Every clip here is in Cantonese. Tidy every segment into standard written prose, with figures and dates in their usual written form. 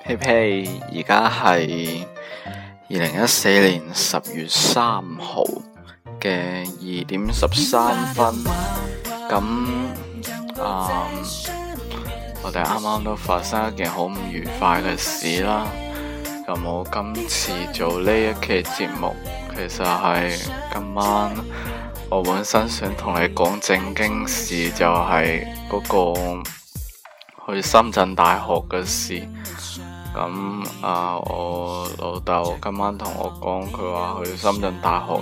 嘿嘿，而家係2014年10月3號嘅2點13分。我哋啱啱都發生一件好唔愉快嘅事啦。咁我今次做呢一期節目，其實係今晚我本身想同你講正經事，就係嗰個去深圳大學嘅事。我老豆今晚同我講，佢話去深圳大學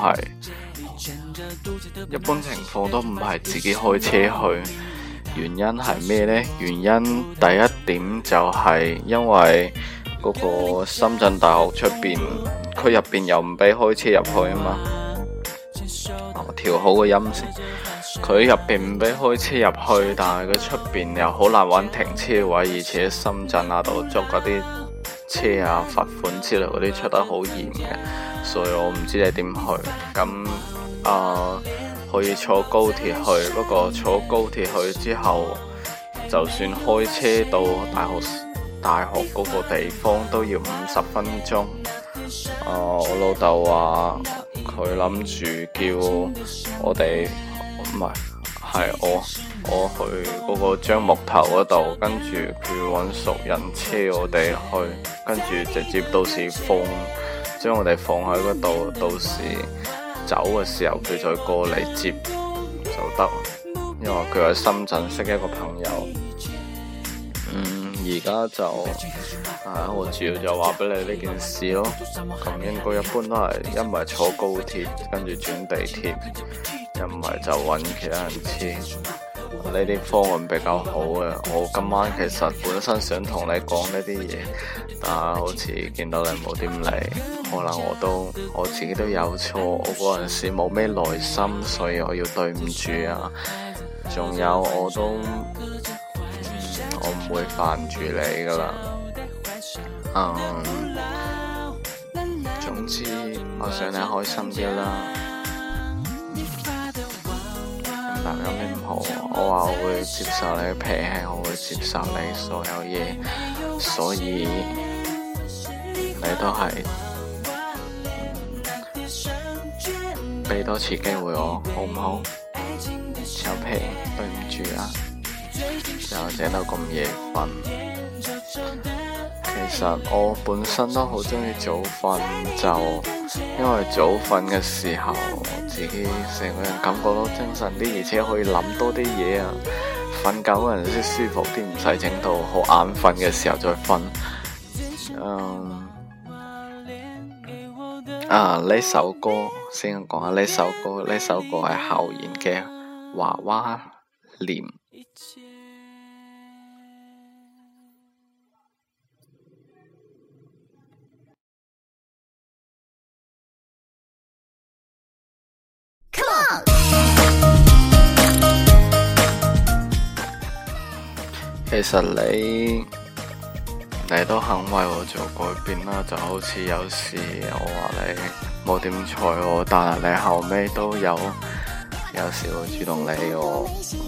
一般情況都唔係自己開車去，原因係咩呢？原因第一點就係因為嗰個深圳大學出邊，佢入邊又唔俾開車入去啊嘛。我調好個音先。佢入邊唔俾開車入去，但係佢出邊又好難揾停車位，而且深圳度捉嗰啲車啊、罰款之類嗰啲出得好嚴嘅，所以我唔知你點去。可以坐高鐵去，不過坐高鐵去之後，就算開車到大學嗰個地方都要50分鐘。我老豆話佢諗住叫我哋。唔係我去嗰個樟木頭嗰度，跟住佢揾熟人車我哋去，跟住直接到時將我哋放喺嗰度，到時走嘅時候佢再過嚟接就得。因為佢喺深圳識一個朋友。而家就我主要就話俾你呢件事咯。咁應該一般都係一唔係坐高鐵，跟住轉地鐵，一唔係就揾其他人車。呢啲方案比較好嘅。我今晚其實本身想同你講呢啲嘢，但係好似見到你冇點嚟，可能我自己都有錯，我嗰陣時冇咩耐心，所以我要對唔住啊。仲有我唔會煩住你噶啦。總之我想你開心啲啦。但有咩唔好？我話我會接受你嘅脾氣，我會接受你所有嘢，所以你都係俾多次機會我，好唔好？小皮，對唔住啊，又整到咁夜瞓。其實我本身都好鍾意早瞓，就因為早瞓嘅時候自己成個人感覺到精神啲，而且可以諗多啲嘢啊。瞓覺嗰陣先舒服啲，唔使整到好眼瞓嘅時候再瞓。呢首歌先講下呢首歌係校園嘅娃娃臉。其實你都肯為我做改變啦，就好似有時我話你冇點睬我，但係你後尾都有時會主動理我。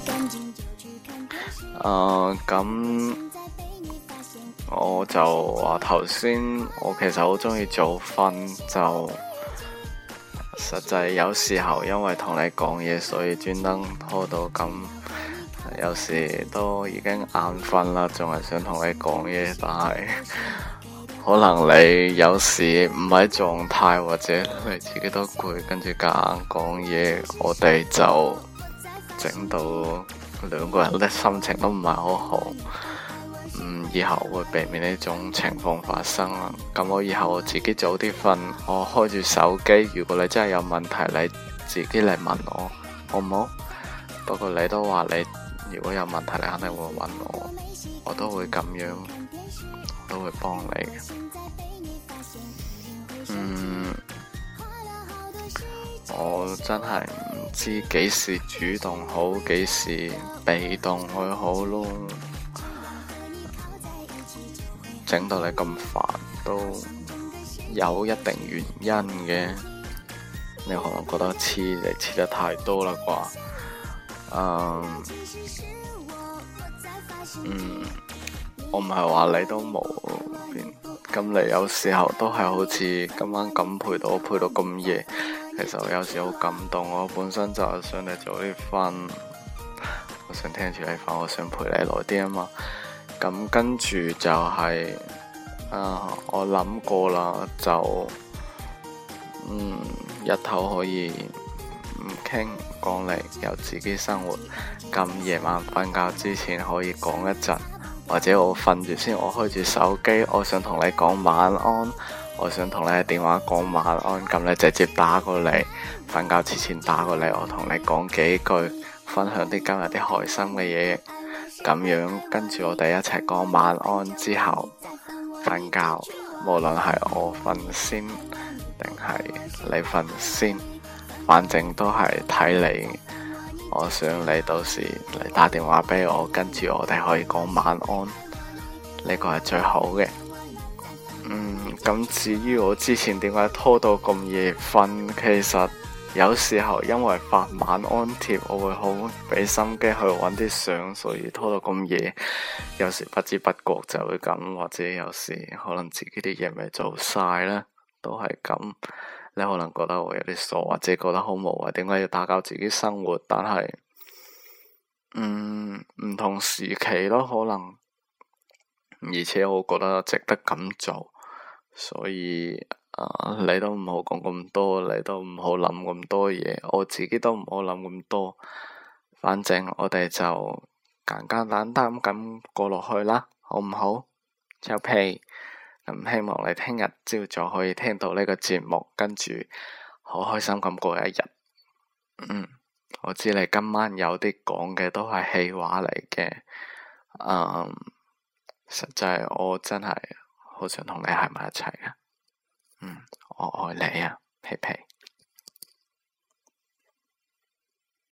咁我就話頭先，我其實好鍾意早瞓，就實際有時候因為同你講嘢，所以專登拖到咁。有時都已經眼瞓啦，仲係想同你講嘢，但係可能你有時唔喺狀態，或者你自己都攰，跟住夾硬講嘢，我哋就整到兩個人嘅心情都唔係好好。以後會避免呢種情況發生啦。咁我以後自己早啲瞓，我開住手機，如果你真係有問題，你自己嚟問我，好唔好？不過你都話你如果有問題，你肯定會揾我，我都會咁樣，我都會幫你嘅。我真係唔知幾時主動好，幾時被動去好咯。整到你咁煩，都有一定原因嘅。你可能覺得黐得太多啦啩？ 我唔係話你都冇變，咁你有時候都係好似今晚咁陪到咁夜，其實我有時好感動。我本身就係想你早啲瞓，我想聽住你瞓，我想陪你耐啲啊嘛。咁跟住就係我諗過啦，就日頭可以唔傾唔講你，有自己生活。咁夜晚瞓覺之前可以講一陣，或者我瞓住先，我開住手機，我想同你講晚安，我想同你喺電話講晚安，咁你直接打過嚟，瞓覺之前打過嚟，我同你講幾句，分享啲今日啲開心嘅嘢，咁樣跟住我哋一齊講晚安之後瞓覺，無論係我瞓先定係你瞓先，反正都係睇你。我想你到時嚟打電話俾我，跟住我哋可以講晚安，呢個係最好嘅。咁至於我之前點解拖到咁夜瞓，其實有時候因為發晚安貼，我會好俾心機去揾啲相，所以拖到咁夜。有時不知不覺就會咁，或者有時可能自己啲嘢未做晒啦，都係咁。你可能覺得我有啲傻，或者覺得好無謂，點解要打攪自己生活？但係，唔同時期咯，可能，而且我覺得值得咁做，所以，你都唔好講咁多，你都唔好諗咁多嘢，我自己都唔好諗咁多，反正我哋就簡簡單單咁過落去啦，好唔好？就屁。咁希望你聽日朝早可以聽到呢個節目，跟住好開心咁過一日。我知你今晚有啲講嘅都係氣話嚟嘅，實際我真係好想同你喺埋一齊啊。我愛你啊，皮皮。